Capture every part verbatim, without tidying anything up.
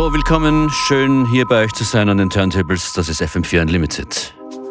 Hallo, willkommen. Schön hier bei euch zu sein an den Turntables. Das ist F M vier Unlimited.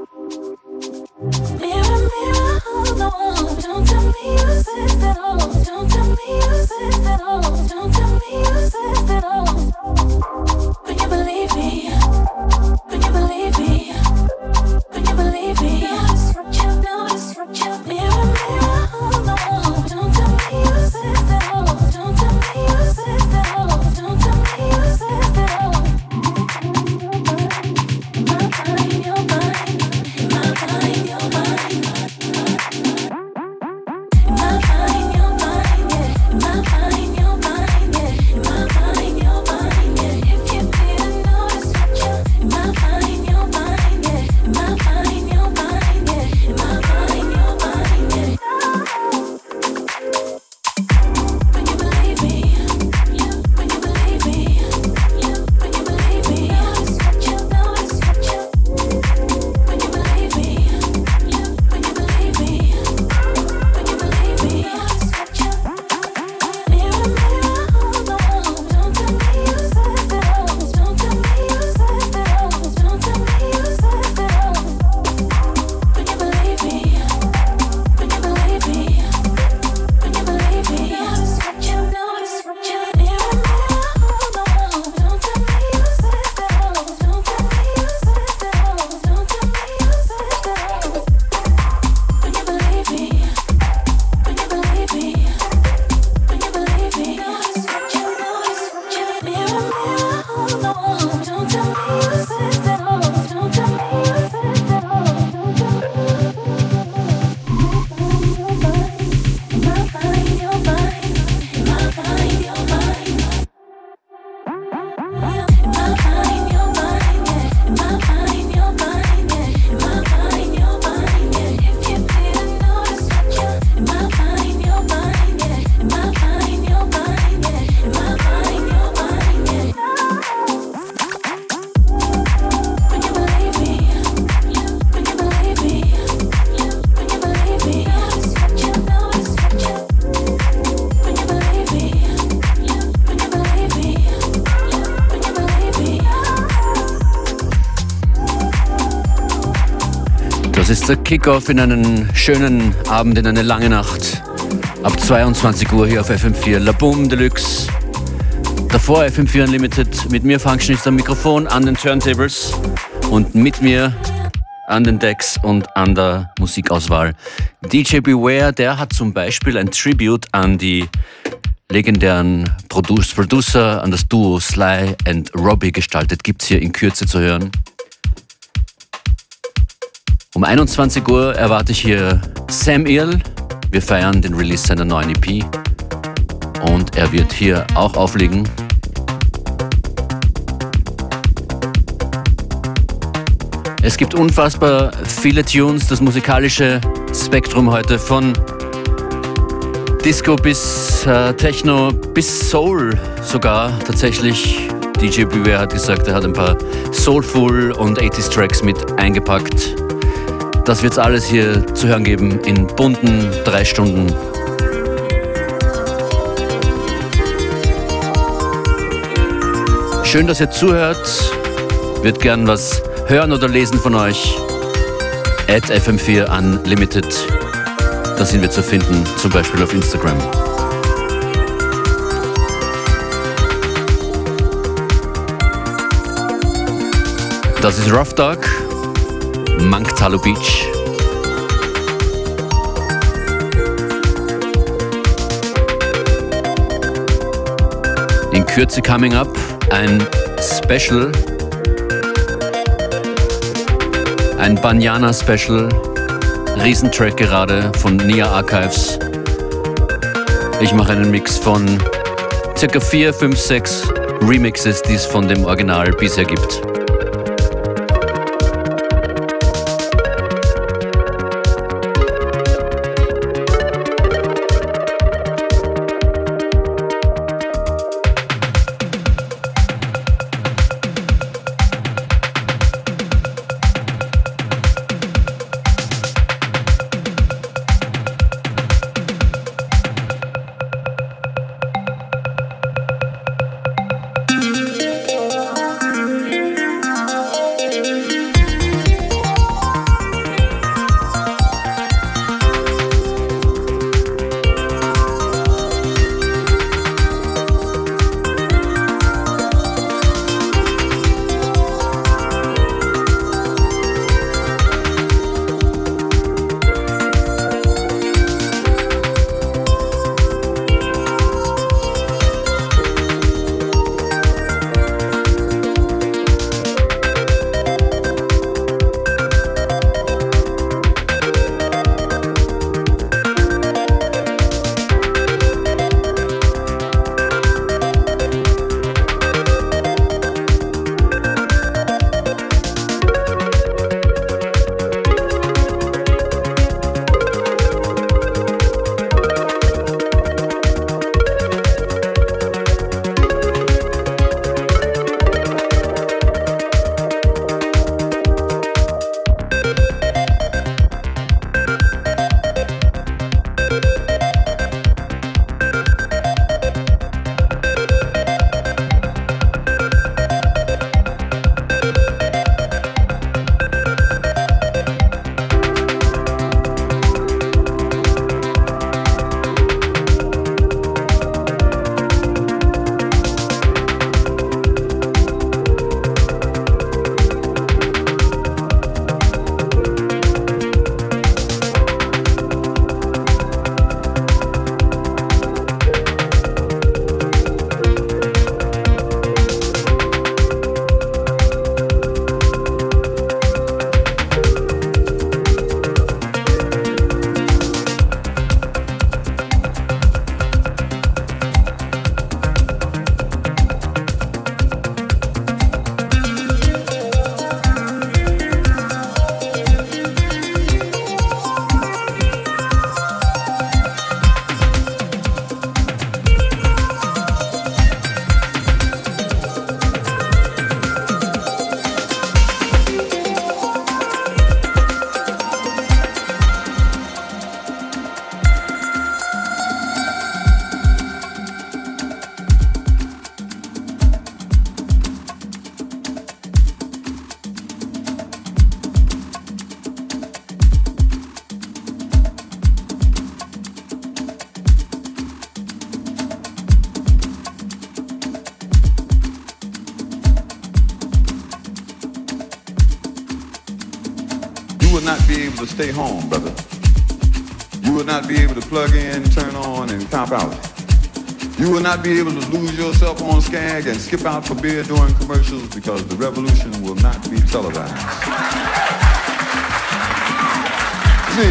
Das ist der Kickoff in einen schönen Abend, in eine lange Nacht. Ab zweiundzwanzig Uhr hier auf F M vier, La Boom Deluxe. Davor F M vier Unlimited, mit mir Functionist am Mikrofon, an den Turntables und mit mir an den Decks und an der Musikauswahl D J Beware. Der hat zum Beispiel ein Tribute an die legendären Produce Producer, an das Duo Sly and Robbie gestaltet. Gibt's hier in Kürze zu hören. Um einundzwanzig Uhr erwarte ich hier Sam Earl. Wir feiern den Release seiner neuen E P und er wird hier auch auflegen. Es gibt unfassbar viele Tunes, das musikalische Spektrum heute von Disco bis äh, Techno bis Soul sogar tatsächlich. D J Beware hat gesagt, er hat ein paar Soulful und achtziger Tracks mit eingepackt. Das wird es alles hier zu hören geben in bunten drei Stunden. Schön, dass ihr zuhört. Wird gern was hören oder lesen von euch. At F M vier Unlimited. Da sind wir zu finden, zum Beispiel auf Instagram. Das ist Rough Dog. Manktalo Beach. In Kürze coming up ein Special, ein Banyana Special, Riesentrack gerade von Nia Archives. Ich mache einen Mix von circa vier, fünf, sechs Remixes, die es von dem Original bisher gibt. be able to stay home, brother. You will not be able to plug in, turn on, and cop out. You will not be able to lose yourself on Skag and skip out for beer during commercials because the revolution will not be televised. See,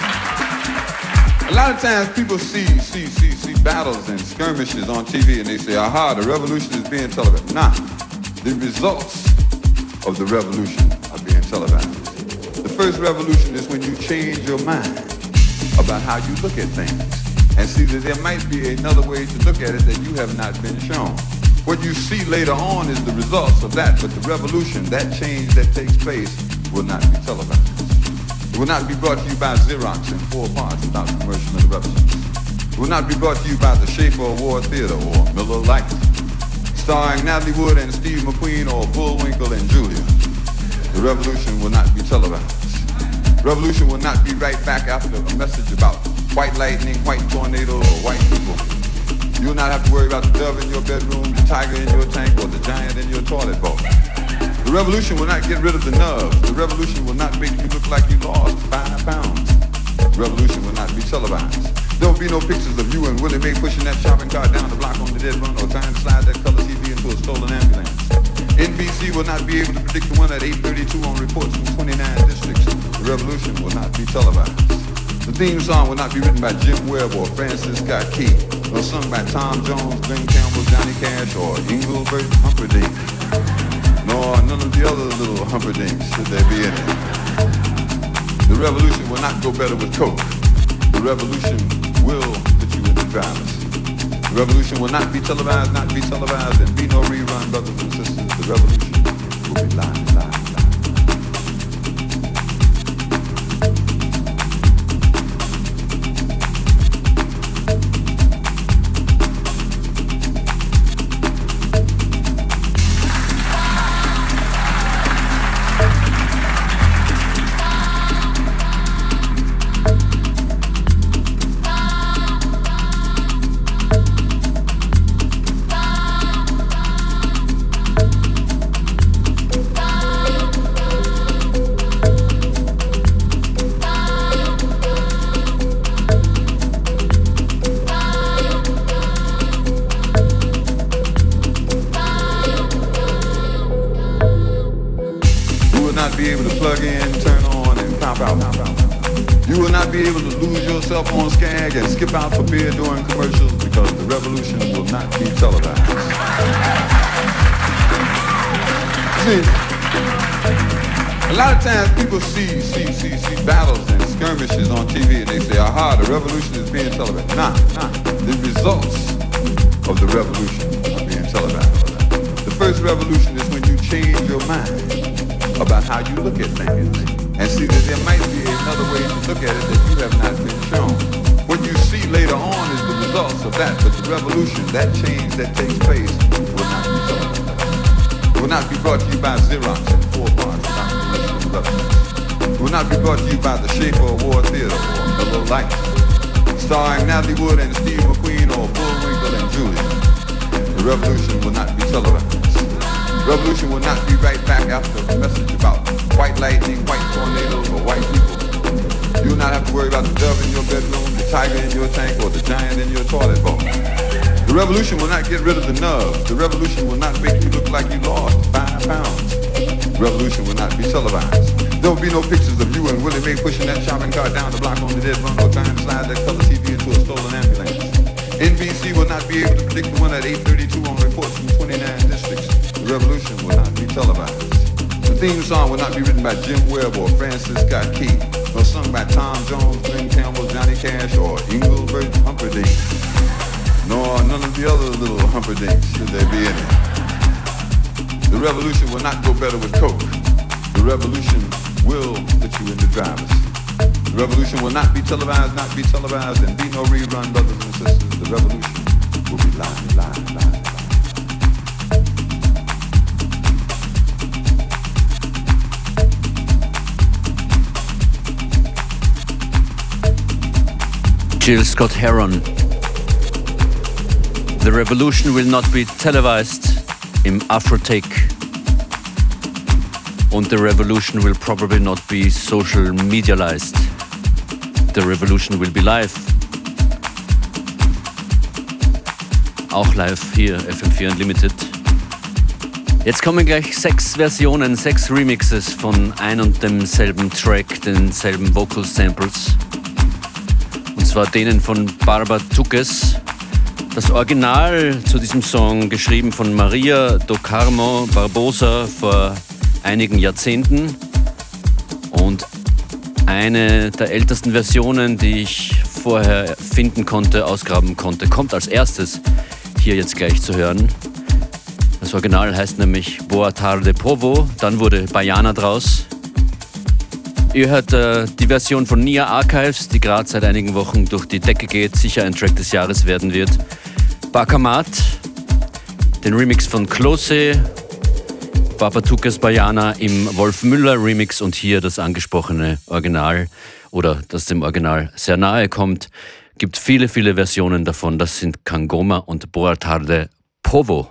a lot of times people see, see, see, see battles and skirmishes on T V and they say, aha, the revolution is being televised. Nah, the results of the revolution are being televised. The first revolution is when you change your mind about how you look at things and see that there might be another way to look at it that you have not been shown. What you see later on is the results of that, but the revolution, that change that takes place, will not be televised. It will not be brought to you by Xerox in four parts without commercial interruptions. It will not be brought to you by the Schaefer Award Theater or Miller Lite, starring Natalie Wood and Steve McQueen or Bullwinkle and Julia. The revolution will not be televised. Revolution will not be right back after a message about white lightning, white tornado, or white people. You will not have to worry about the dove in your bedroom, the tiger in your tank, or the giant in your toilet bowl. The revolution will not get rid of the nerves. The revolution will not make you look like you lost five pounds. The revolution will not be televised. There will be no pictures of you and Willie Mae pushing that shopping cart down the block on the dead run or trying to slide that color T V into a stolen ambulance. N B C will not be able to predict the one at eight thirty-two on reports from twenty-nine districts. The revolution will not be televised. The theme song will not be written by Jim Webb or Francis Scott Key, nor sung by Tom Jones, Glenn Campbell, Johnny Cash, or Engelbert Humperdinck, nor none of the other little Humperdinks, should there be any. The revolution will not go better with Coke. The revolution will put you in the drivers. The revolution will not be televised, not be televised, and be no rerun, brothers and sisters. The revolution will be live, live, live. On Skag and skip out for beer during commercials because the revolution will not be televised. See, a lot of times people see, see, see, see battles and skirmishes on T V and they say, aha, the revolution is being televised. Nah, nah, the results of the revolution are being televised. The first revolution is when you change your mind about how you look at things and see that there might be another way to look at it that you have not been shown. What you see later on is the results of that, but the revolution, that change that takes place, will not be televised. It will not be brought to you by Xerox in four parts without commercial interruptions. It will not be brought to you by the Schaefer Award Theater or Miller Lite, starring Natalie Wood and Steve McQueen or Bullwinkle and Julia. The revolution will not be televised. Revolution will not be right back after a message about white lightning, white tornadoes, or white people. You will not have to worry about the dove in your bedroom, the tiger in your tank, or the giant in your toilet bowl. The revolution will not get rid of the nerves. The revolution will not make you look like you lost five pounds. The revolution will not be televised. There will be no pictures of you and Willie Mae pushing that shopping cart down the block on the dead run or trying to slide that color T V into a stolen ambulance. N B C will not be able to predict the one at eight thirty-two on reports from twenty-nine districts. The revolution will not be televised. The theme song will not be written by Jim Webb or Francis Scott Key, nor sung by Tom Jones, Glenn Campbell, Johnny Cash, or Engelbert Humperdinck, nor none of the other little Humperdinks, should there be any. The revolution will not go better with Coke. The revolution will put you in the drivers. The revolution will not be televised, not be televised, and be no rerun, brothers and sisters. The revolution will be live, live, live. Jill Scott Heron. The revolution will not be televised im Afrotake. Und the revolution will probably not be social medialized. The revolution will be live. Auch live hier, F M vier Unlimited. Jetzt kommen gleich sechs Versionen, sechs Remixes von ein und demselben Track, denselben Vocal Samples. Und zwar denen von Barbatukes. Das Original zu diesem Song, geschrieben von Maria do Carmo Barbosa vor einigen Jahrzehnten. Und eine der ältesten Versionen, die ich vorher finden konnte, ausgraben konnte, kommt als erstes hier jetzt gleich zu hören. Das Original heißt nämlich Boa Tarde Povo, dann wurde Baiana draus. Ihr hört äh, die Version von Nia Archives, die gerade seit einigen Wochen durch die Decke geht, sicher ein Track des Jahres werden wird. Bakamat, den Remix von Klose, Barbatukes Baiana im Wolf Müller Remix und hier das angesprochene Original oder das dem Original sehr nahe kommt. Gibt viele, viele Versionen davon. Das sind Kangoma und Boa Tarde Povo.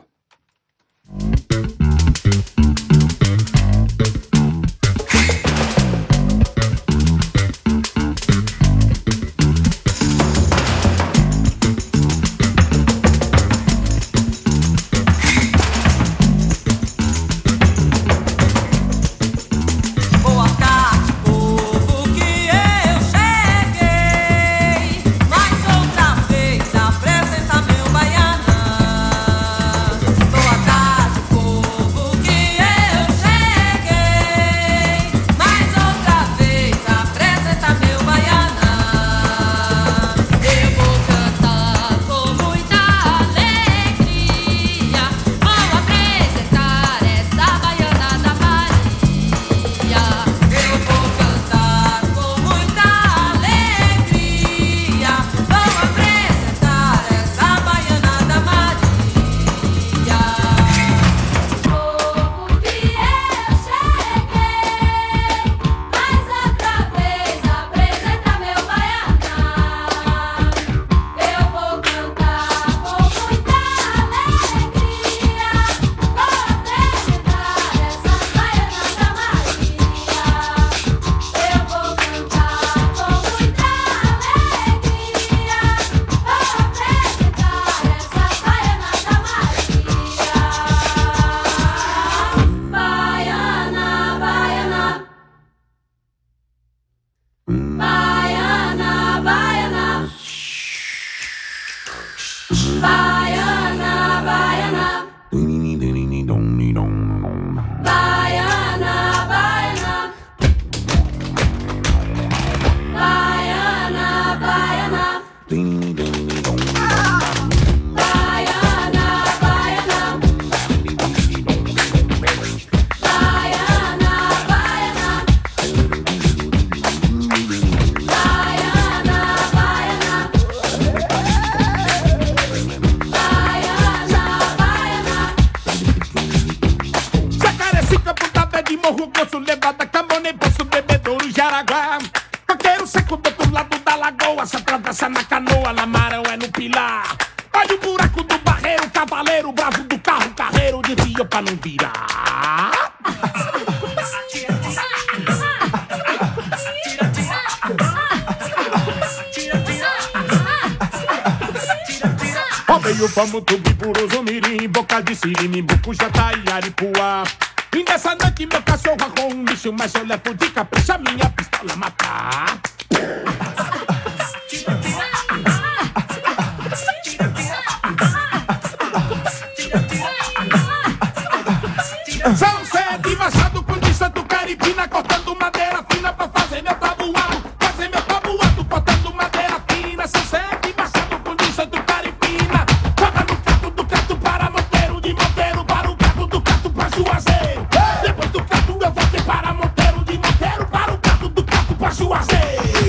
Vamos tubi puroso mirim, boca de sirene, bucujá e aripuá. E nessa noite meu cachorro arrou um bicho, mas eu levo de capricha minha pistola matar. São sete machado com de santo caripina, cortando madeira fina pra fazer meu tabuado, fazer meu tabuado, cortando madeira fina. São sete machado com de santo caripina. Depois do canto eu voltei para Monteiro, de Monteiro para o canto do canto pra Juazeiro.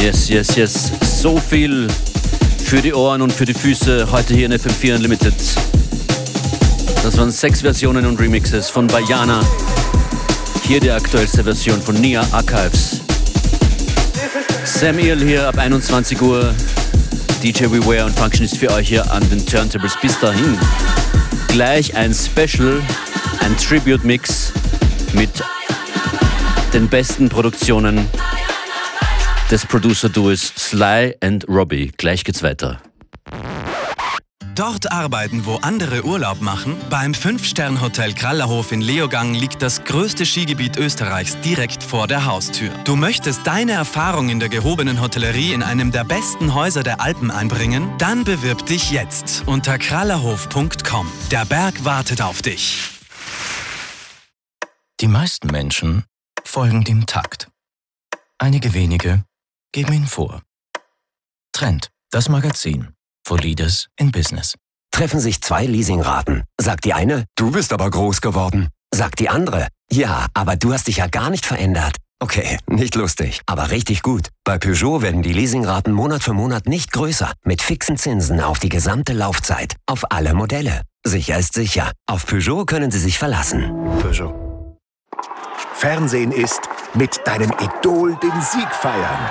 Yes, yes, yes. So viel für die Ohren und für die Füße heute hier in F M vier Unlimited. Das waren sechs Versionen und Remixes von Bayana. Hier die aktuellste Version von Nia Archives. Sam Earl hier ab einundzwanzig Uhr. D J Beware und Function ist für euch hier an den Turntables. Bis dahin gleich ein Special, ein Tribute-Mix mit den besten Produktionen des Producer-Duos Sly and Robbie. Gleich geht's weiter. Dort arbeiten, wo andere Urlaub machen. Beim Fünf-Stern-Hotel Krallerhof in Leogang liegt das größte Skigebiet Österreichs direkt vor der Haustür. Du möchtest deine Erfahrung in der gehobenen Hotellerie in einem der besten Häuser der Alpen einbringen? Dann bewirb dich jetzt unter krallerhof punkt com. Der Berg wartet auf dich. Die meisten Menschen folgen dem Takt. Einige wenige geben ihn vor. Trend, das Magazin. For Leaders in Business. Treffen sich zwei Leasingraten. Sagt die eine, du bist aber groß geworden. Sagt die andere, ja, aber du hast dich ja gar nicht verändert. Okay, nicht lustig, aber richtig gut. Bei Peugeot werden die Leasingraten Monat für Monat nicht größer. Mit fixen Zinsen auf die gesamte Laufzeit. Auf alle Modelle. Sicher ist sicher. Auf Peugeot können Sie sich verlassen. Peugeot. Fernsehen ist mit deinem Idol den Sieg feiern.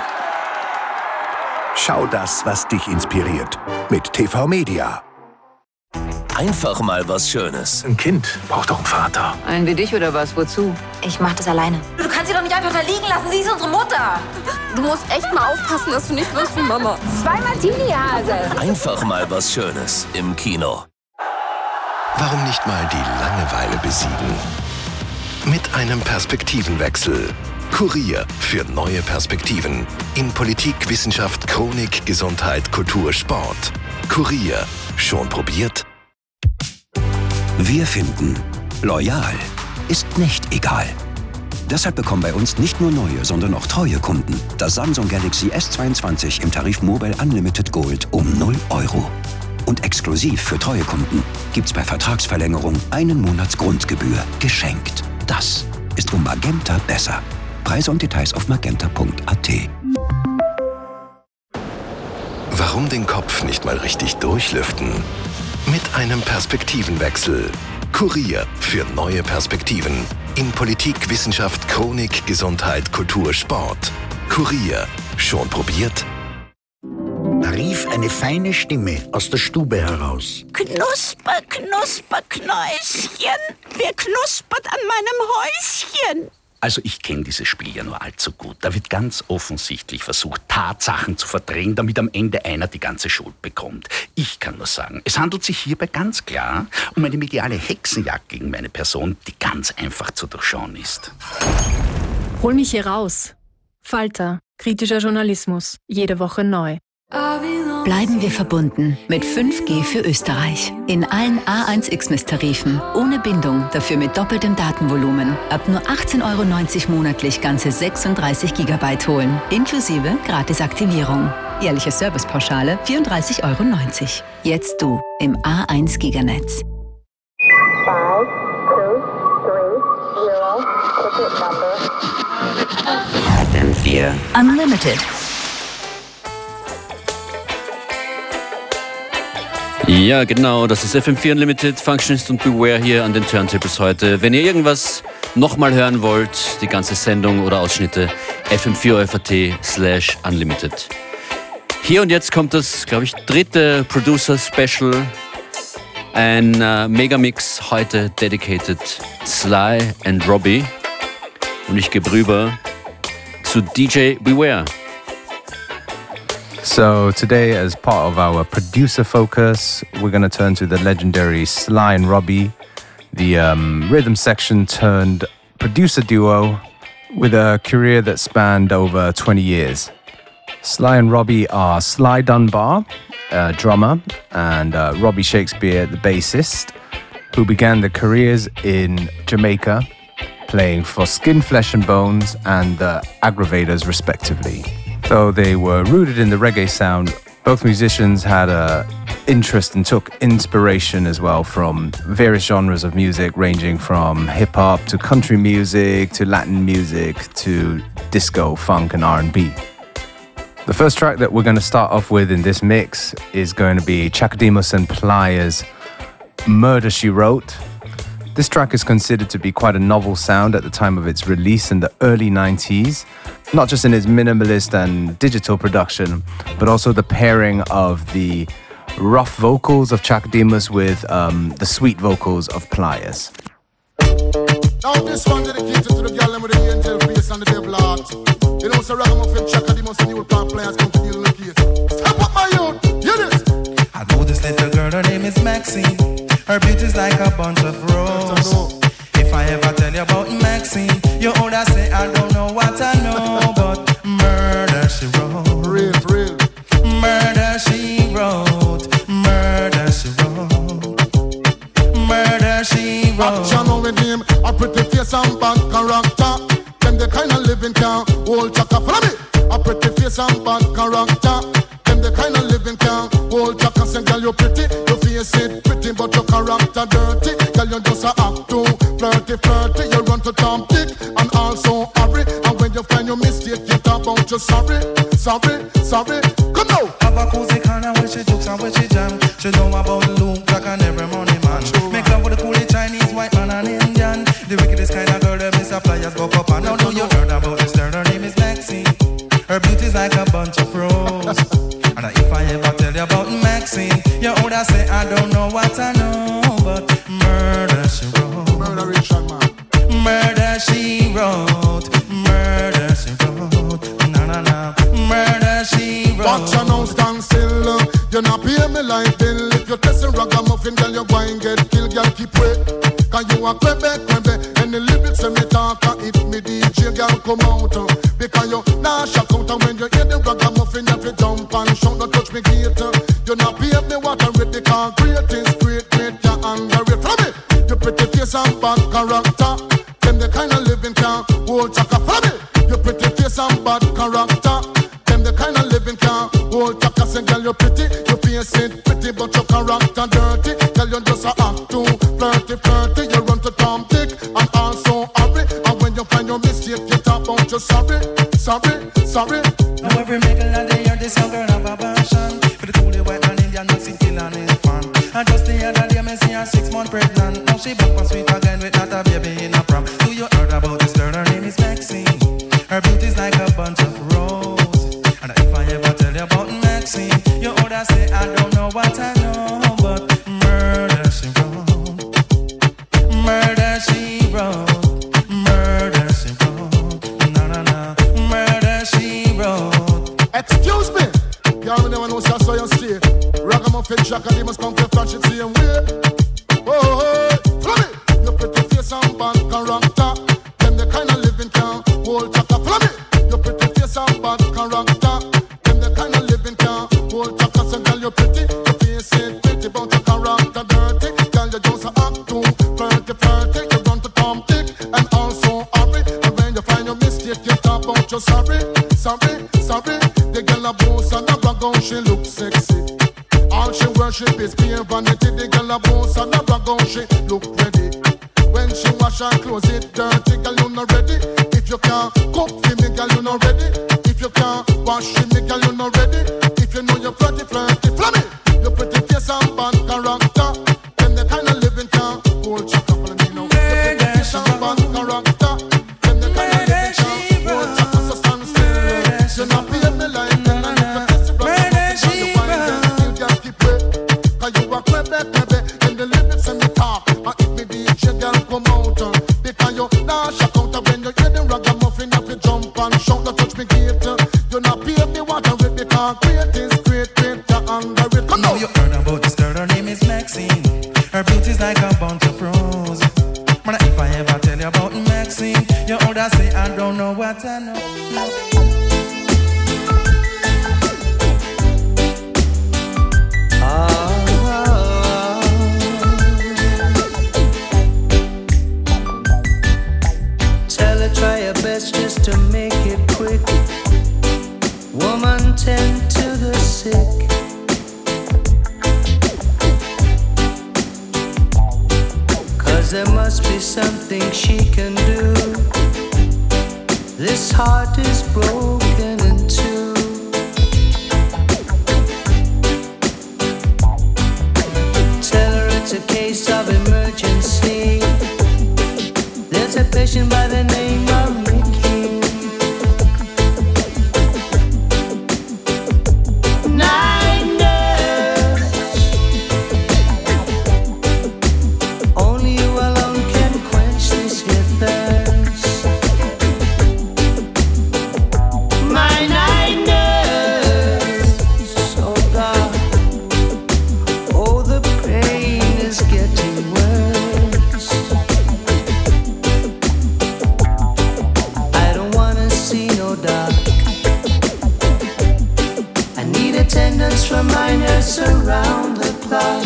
Schau das, was dich inspiriert. Mit T V Media. Einfach mal was Schönes. Ein Kind braucht auch einen Vater. Einen wie dich oder was? Wozu? Ich mach das alleine. Du kannst sie doch nicht einfach da liegen lassen. Sie ist unsere Mutter. Du musst echt mal aufpassen, dass du nicht wirst wie Mama. Zwei Martini-Hase. Einfach mal was Schönes im Kino. Warum nicht mal die Langeweile besiegen? Mit einem Perspektivenwechsel. Kurier für neue Perspektiven. In Politik, Wissenschaft, Chronik, Gesundheit, Kultur, Sport. Kurier. Schon probiert? Wir finden, loyal ist nicht egal. Deshalb bekommen bei uns nicht nur neue, sondern auch treue Kunden das Samsung Galaxy S zweiundzwanzig im Tarif Mobile Unlimited Gold um null Euro. Und exklusiv für treue Kunden gibt's bei Vertragsverlängerung einen Monats Grundgebühr geschenkt. Das ist um Magenta besser. Preise und Details auf magenta punkt a t. Warum den Kopf nicht mal richtig durchlüften? Mit einem Perspektivenwechsel. Kurier für neue Perspektiven. In Politik, Wissenschaft, Chronik, Gesundheit, Kultur, Sport. Kurier. Schon probiert? Da rief eine feine Stimme aus der Stube heraus. Knusper, knusper, Knäuschen. Wer knuspert an meinem Häuschen? Also ich kenne dieses Spiel ja nur allzu gut. Da wird ganz offensichtlich versucht, Tatsachen zu verdrehen, damit am Ende einer die ganze Schuld bekommt. Ich kann nur sagen, es handelt sich hierbei ganz klar um eine mediale Hexenjagd gegen meine Person, die ganz einfach zu durchschauen ist. Hol mich hier raus. Falter, kritischer Journalismus, jede Woche neu. Bleiben wir verbunden mit fünf G für Österreich. In allen A eins X M S Tarifen. Ohne Bindung, dafür mit doppeltem Datenvolumen. Ab nur achtzehn Euro neunzig monatlich ganze sechsunddreißig Gigabyte holen. Inklusive Gratisaktivierung. Jährliche Servicepauschale vierunddreißig Euro neunzig. Jetzt du im A eins Giganetz. five, two, three, zero, ticket number. F M vier Unlimited. Ja, genau, das ist F M vier Unlimited, Functionist und Beware hier an den Turntables heute. Wenn ihr irgendwas nochmal hören wollt, die ganze Sendung oder Ausschnitte, f m vier punkt t slash unlimited. Hier und jetzt kommt das, glaube ich, dritte Producer-Special, ein äh, Megamix, heute dedicated Sly and Robbie. Und ich gebe rüber zu D J Beware. So today, as part of our producer focus, we're going to turn to the legendary Sly and Robbie, the um, rhythm section turned producer duo with a career that spanned over twenty years. Sly and Robbie are Sly Dunbar, a drummer, and uh, Robbie Shakespeare, the bassist, who began their careers in Jamaica, playing for Skin, Flesh and Bones and the Aggravators respectively. Though they were rooted in the reggae sound, both musicians had an interest and took inspiration as well from various genres of music, ranging from hip-hop to country music to Latin music to disco, funk and R and B. The first track that we're going to start off with in this mix is going to be Chaka Demus and Playa's Murder, She Wrote. This track is considered to be quite a novel sound at the time of its release in the early nineties, not just in its minimalist and digital production, but also the pairing of the rough vocals of Chaka Demus with um, the sweet vocals of Playas. Now this one dedicated to the girl with the angel face and the devil heart. You know, so Ragamuffin, Chaka Demus and the old pop players come to deal with the case. Step up my youth, hear this. I know this little girl, her name is Maxine. Her beauty's like a bunch of roses. If I ever tell you about Maxine, you older say I don't know what I know, but murder she wrote. Real, real. Murder she wrote. Murder she wrote. Murder she wrote. Action on with him, a pretty face and bad character. Them the kind of living can hold Chaka. Follow me. A pretty face and bad character. Them the kind of living can hold Chaka. Say girl you pretty, your face it pretty, but your character dirty. Girl you just a act too flirty, flirty. You run to Tom Dick and also hurry. And when you find your mistake, you talk about you sorry, sorry, sorry. Come now. Have a cozy corner where she jokes and where she jam. She know about Luke, Jack and every money man. Make love with the coolie Chinese, white man and Indian. The wickedest kind of girl that Miss Playas go up and now know you heard about this girl. Her name is Maxine. Her beauty's like a bunch of roses. And if I ever tell you about Maxine, you older say I don't know what I know, but murder she wrote. Murderation man. Murder she wrote. Murder she wrote. Na na na. Murder she wrote. Watch your now stand still. You not pay me like bill. If you test a ragamuffin, girl, you go and get killed. Girl, keep wait. Cause you a quebe, quebe. And the lyrics when me talk, it me D J, girl, come out. Because you nah shock out. And when you hear the ragamuffin, you have to jump and shout. Don't touch me gate. You not pay me what I read. The concrete is great, great, you underrate. From me, you pretty face and bad character. Them the kind of living can hold Chaka. From me, you pretty face and bad character. Them the kind of living can hold Chaka. Say girl you pretty, you face it pretty, but your character dirty. Girl you just a act too flirty, flirty. You run to Tom Dick and also hurry. And when you find your mistake, you talk about you sorry, sorry, sorry. Now every middle of the year, this young girl have a passion for the coolie white man Indian Maxine kill and his fan. And just the other day, me see her six months pregnant. Now she back on sweet again with not a baby in a prom. Do you heard about this girl? Her name is Maxine. Her beauty's like a bunch of roses. And if I ever tell you about Maxine, you older say I don't know what I know, but murder she wrote. Murder she wrote. Murder she wrote. Na na na. Murder she wrote. Excuse me. Y'all never know so you stay. Ragamuffin, Chaka Demus come to flash it same way. Oh, oh, oh. Follow me. You pretty face and bad character. Them the kind of living can hold Chaka. Follow me. You pretty face and bad character. Them the kind of living can hold Chaka. So girl you pretty, you face it pretty, but your character dirty. Girl you just a act too flirty, flirty. You run to Tom Dick and also hurry. And when you find your mistake, you talk about you sorry, sorry, sorry. The girl a boss and a brag on, she look sexy. All she worship is pure vanity. The girl a boss and a brag on, she look ready. When she wash her clothes, it dirty. Girl you not ready. If you can't cook for me, girl you not ready. If you can't wash for me, girl you not ready. If you know you're flirty, flirty, flirty. You pretty face and bad character. Then the kind of living can hold Chaka. Follow me now. You pretty face and bad character. Then the kind of living can hold Chaka. So stand still. You not pay me like that. And if you test it right, you find them. You just keep wait. Cause you a quebe, quebe. And the lyrics and the talk. And if me D J girl come out. Because you nah shock out. When you hear the ragamuffin, you have to jump and shout. Don't touch me gate. You not pay me what I read. Because great is great, great, you underrate. Come now on. You heard about this girl, her name is Maxine. Her beauty's like a bunch of roses. Man, if I ever tell you about Maxine, you older say I don't know what I know. Tell her try your best just to make it quick. Woman, tend to the sick. Cause there must be something she can do. This heart is broken in two. musician by the name of Mickey. Night nurse, only you alone can quench this here thirst. My night nurse, oh God, oh the pain is getting worse. I don't wanna see no dark. I need attendance from my nurse around the clock.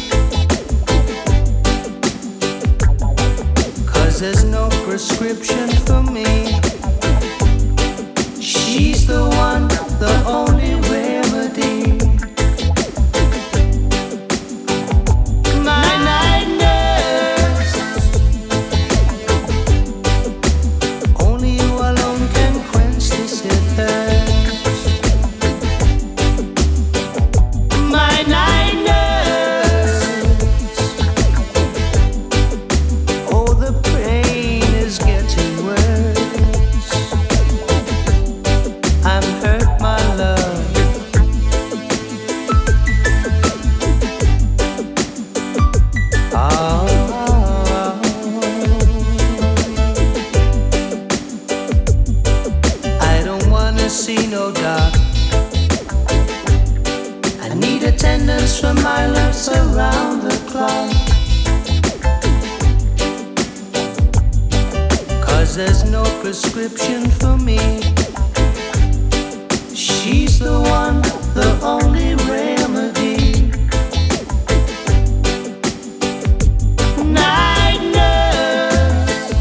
Cause there's no prescription for me. She's the one, the only remedy. My night nurse, only you alone can quench this here thirst. My night nurse, oh the pain is getting worse. I'm hurt, my love. Oh. I don't wanna see no dark. I need attendance from my nurse around the clock. Cause there's no prescription for me. She's the one, the only remedy. Night nurse,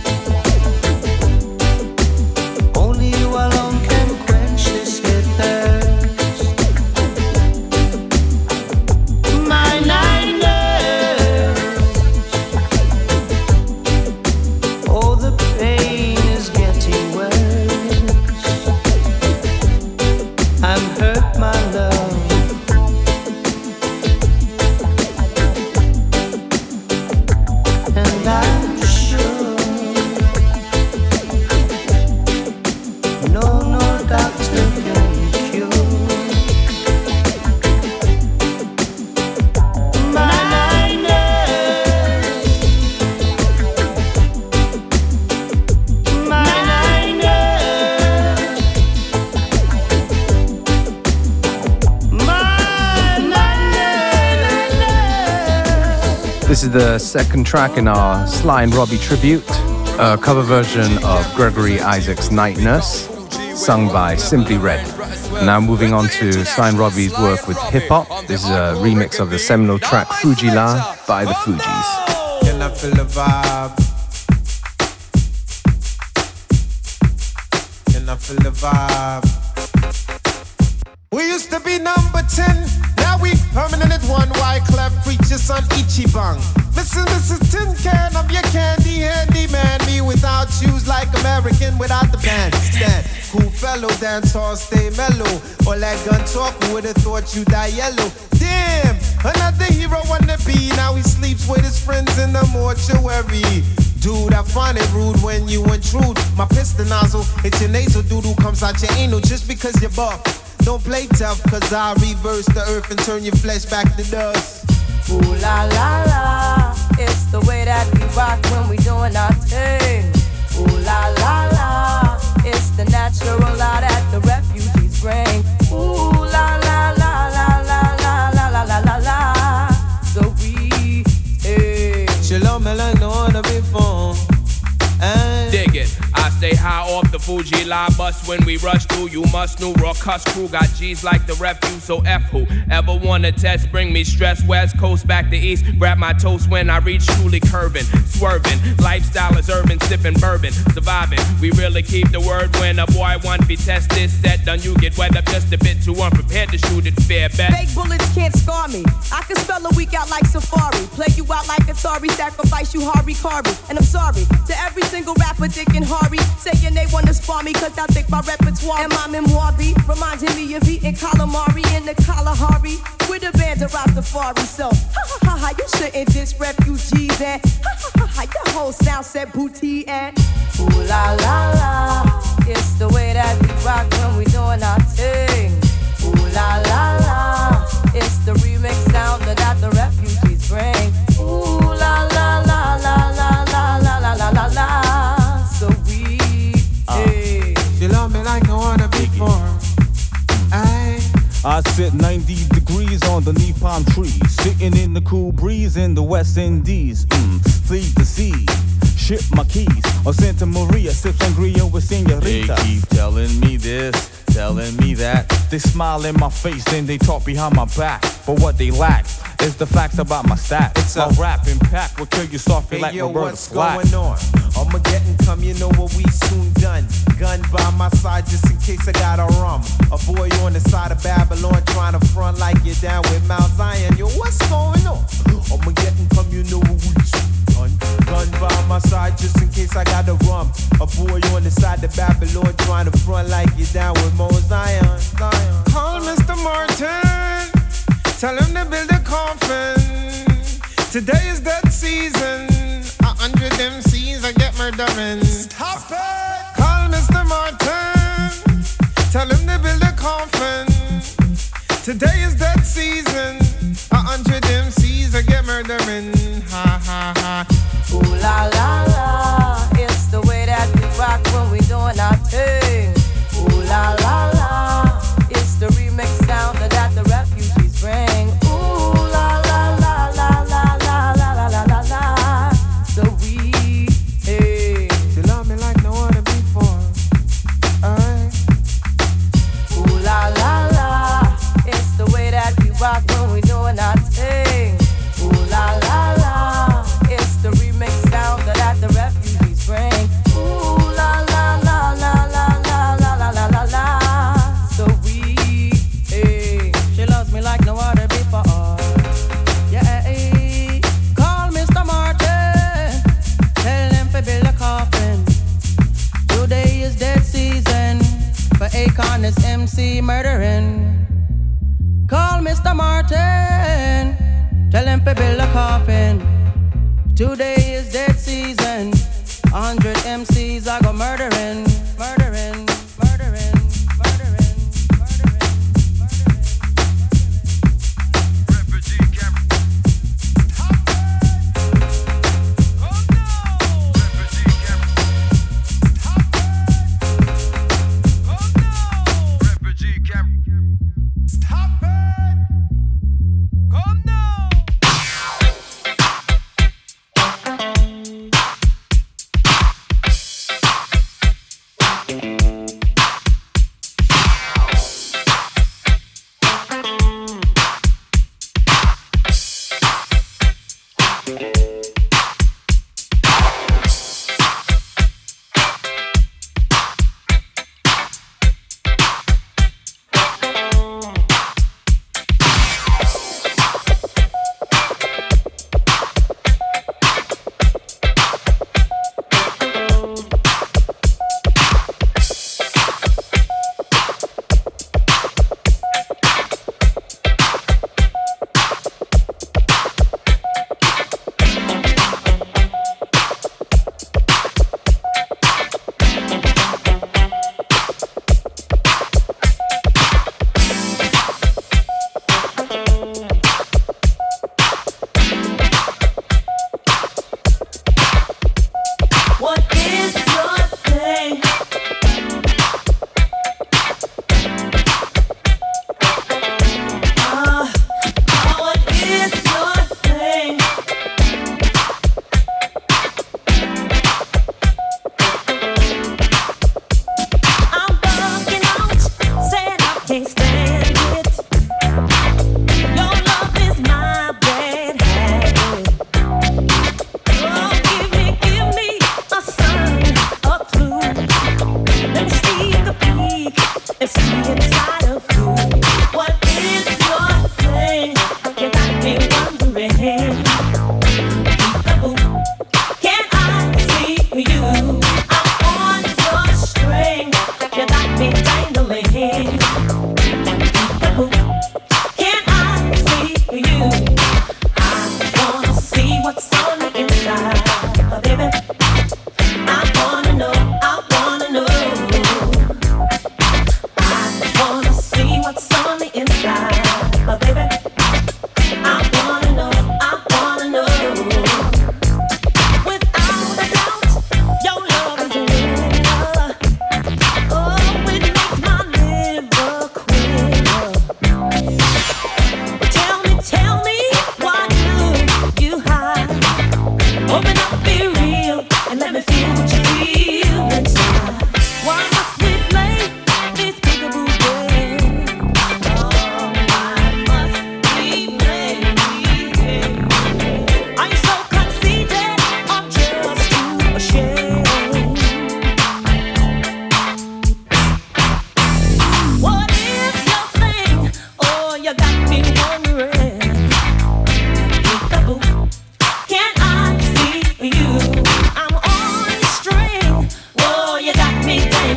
only you alone can quench this here thirst. My night nurse, oh the pain is getting worse. I'm hurt, my love. And I'm sure no, no doctor can cure my night nurse. My night nurse. This is the second track in our Sly and Robbie tribute, a cover version of Gregory Isaacs' Night Nurse, sung by Simply Red. Now moving on to Sly and Robbie's work with hip hop. This is a remix of the seminal track Fuji-La by the Fugees. Can I feel the vibe? Can I feel the vibe? We used to be number ten, now we permanent at one. Wyclef preachers on Ichiban. Missus Missus Tin Can, I'm your candy handy man. Me without shoes like American without the bandstand. Cool fellow, dance hall, stay mellow. All that gun talk, who would've thought you die yellow? Damn, another hero wanna be. Now he sleeps with his friends in the mortuary. Dude, I find it rude when you intrude. My piston nozzle, it's your nasal doodle comes out your anal just because you're buff. Don't play tough, cause I reverse the earth and turn your flesh back to dust. Ooh la la la, it's the way that we rock when we doing our thing. Ooh la la la, it's the natural law that the refugees bring. Ooh la la la la la la la la la la la. So we, hey. Shalom, I like no other before. Dig it. I stay high off the Fuji-La bus when we rush through. You must know raw cuss crew got G's like the refuse. So F who ever wanna test? Bring me stress. West Coast back to East. Grab my toast when I reach truly curving, swerving. Lifestyle is urban, sipping bourbon, surviving. We really keep the word when a boy want be test this set. Done you get wet up just a bit too unprepared to shoot it fair bet. Fake bullets can't scar me. I can spell a week out like Safari. Play you out like Atari. Sacrifice you Hari Kari. And I'm sorry to every single rapper, Dick and Hari. Say saying they wanna spar me cause I think my repertoire and my memoir be reminding me of eating calamari in the Kalahari with a band of Rastafari. So, ha ha ha ha, you shouldn't diss refugees and ha ha ha ha, your whole sound set booty and ooh la la la, it's the way that we rock when we doing our thing. Ooh la la la, it's the remix sound that the refugees bring. Ooh la la la la la la la la la la la. So we, hey. She love me like I wanna be for. Aye. I sit ninety degrees underneath palm trees, sitting in the cool breeze in the West Indies. Mm, feed the sea, ship my keys. Or Santa Maria, sip sangria with senoritas. They keep telling me this, telling me that. They smile in my face, then they talk behind my back. But what they lack is the facts about my stats. It's a rap impact will kill you softly hey, like yo, Roberta what's Flack. Going on? Armageddon come, you know what we soon done. Gun by my side just in case I got a rum. A boy on the side of Babylon trying to front like you're down with Mount Zion. Yo, what's going on? Armageddon come, you know what we soon done. Gun by my side just in case I got a rum. A boy on the side of Babylon trying to front like you're down with Mount Zion. Zion. Call Mister Martin, tell him to build a coffin. Today is that season. A hundred M Cs I get murdering. Stop it! Call Mister Martin, tell him to build a coffin. Today is that season. A hundred M Cs I get murdering. Ha ha ha. Ooh la la la, it's the way that we rock when we doing our thing. Ooh la la la, it's the remix sound that the refugees bring. Ooh la la la la la la la la la la la. So we, hey. You love me like no other before. Aye. Ooh la la la, it's the way that we rock when we doing our thing. Ooh la la la, it's the remix sound that the refugees bring. Ooh la la la la la la la la la la la. So we, hey. She loves me like no other before. Yeah, hey. Call Mister Martin, tell him to build a coffin. Today is dead season for Akon is M C murdering. Call Mister Martin, tell him to build a coffin. Today is dead season. A hundred M Cs I go murdering, murdering, murdering, murdering, murdering, murdering. Refugee camp. Stop it! Oh no! Refugee camp. Stop it! Oh no! Refugee camp. Stop it! Oh no!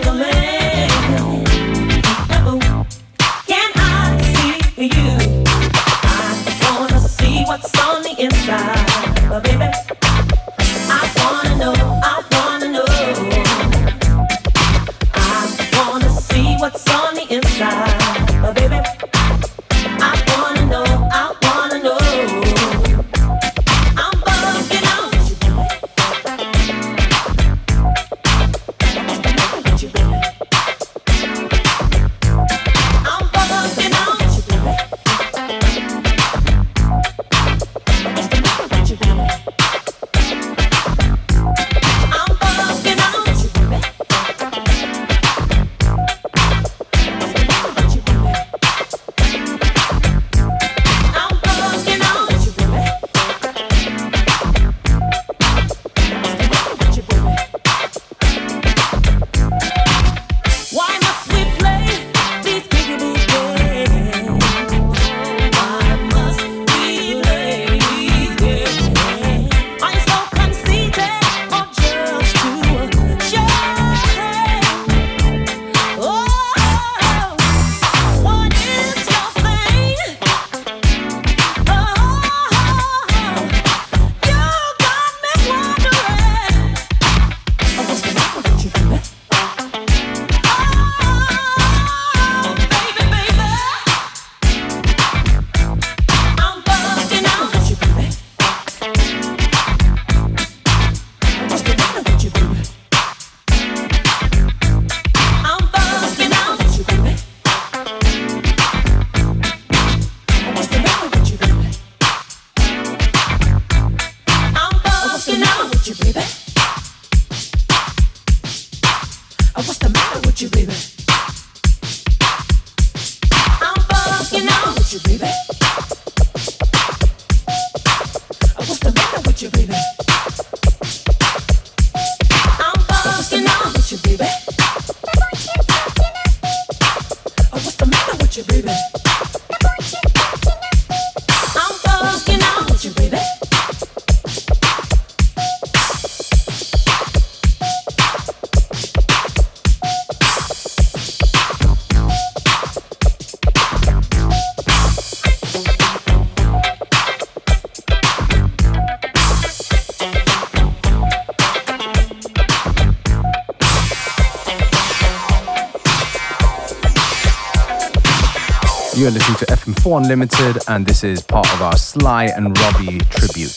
You're listening to F M four Unlimited, and this is part of our Sly and Robbie tribute.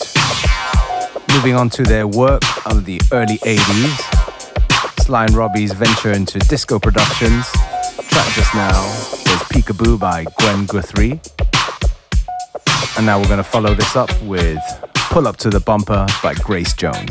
Moving on to their work of the early eighties, Sly and Robbie's venture into disco productions. Track just now was Peekaboo by Gwen Guthrie. And now we're going to follow this up with Pull Up to the Bumper by Grace Jones.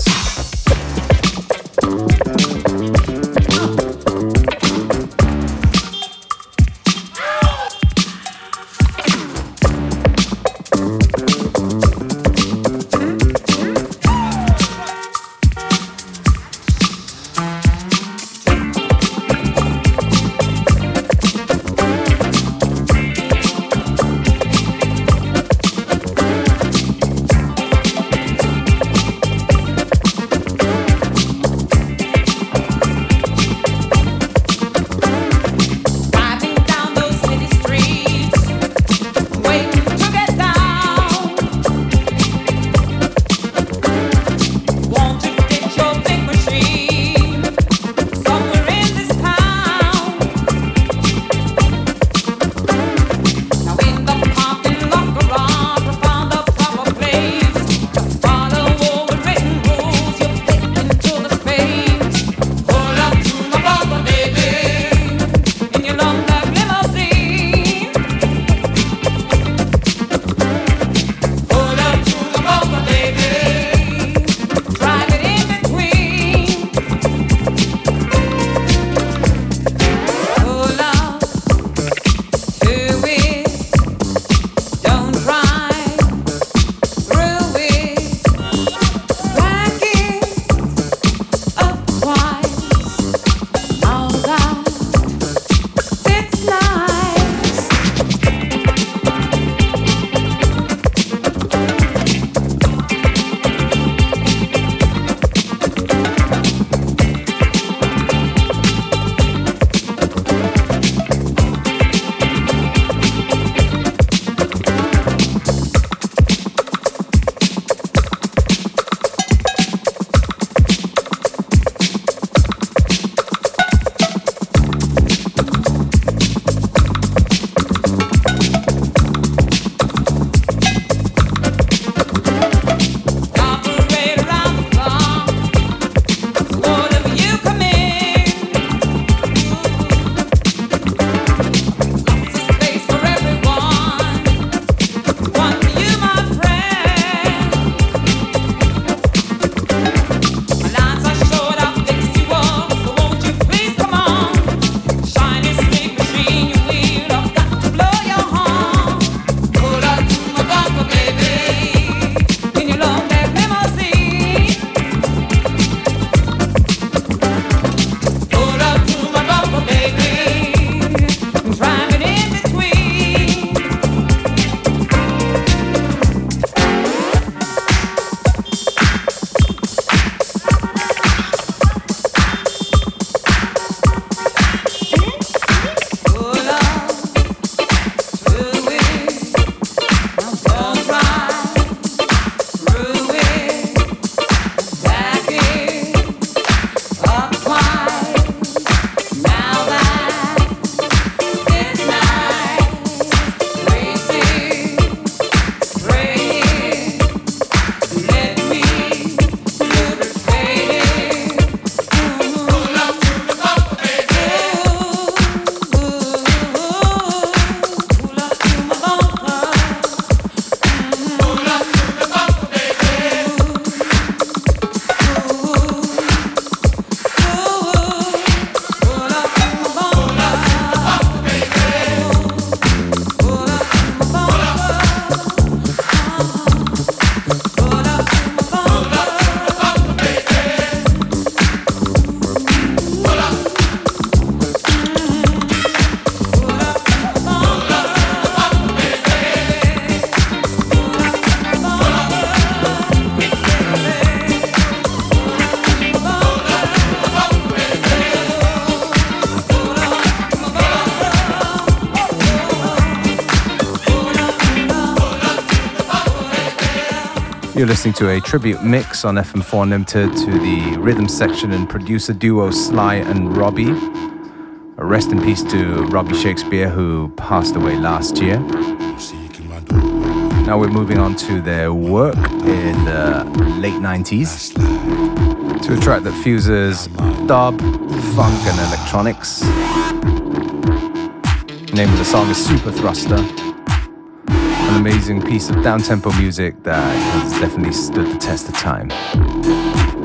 You're listening to a tribute mix on F M four Unlimited to the rhythm section and producer duo Sly and Robbie. Rest in peace to Robbie Shakespeare, who passed away last year. Now we're moving on to their work in the late nineties, to a track that fuses dub, funk and electronics. The name of the song is Super Thruster. An amazing piece of down-tempo music that has definitely stood the test of time.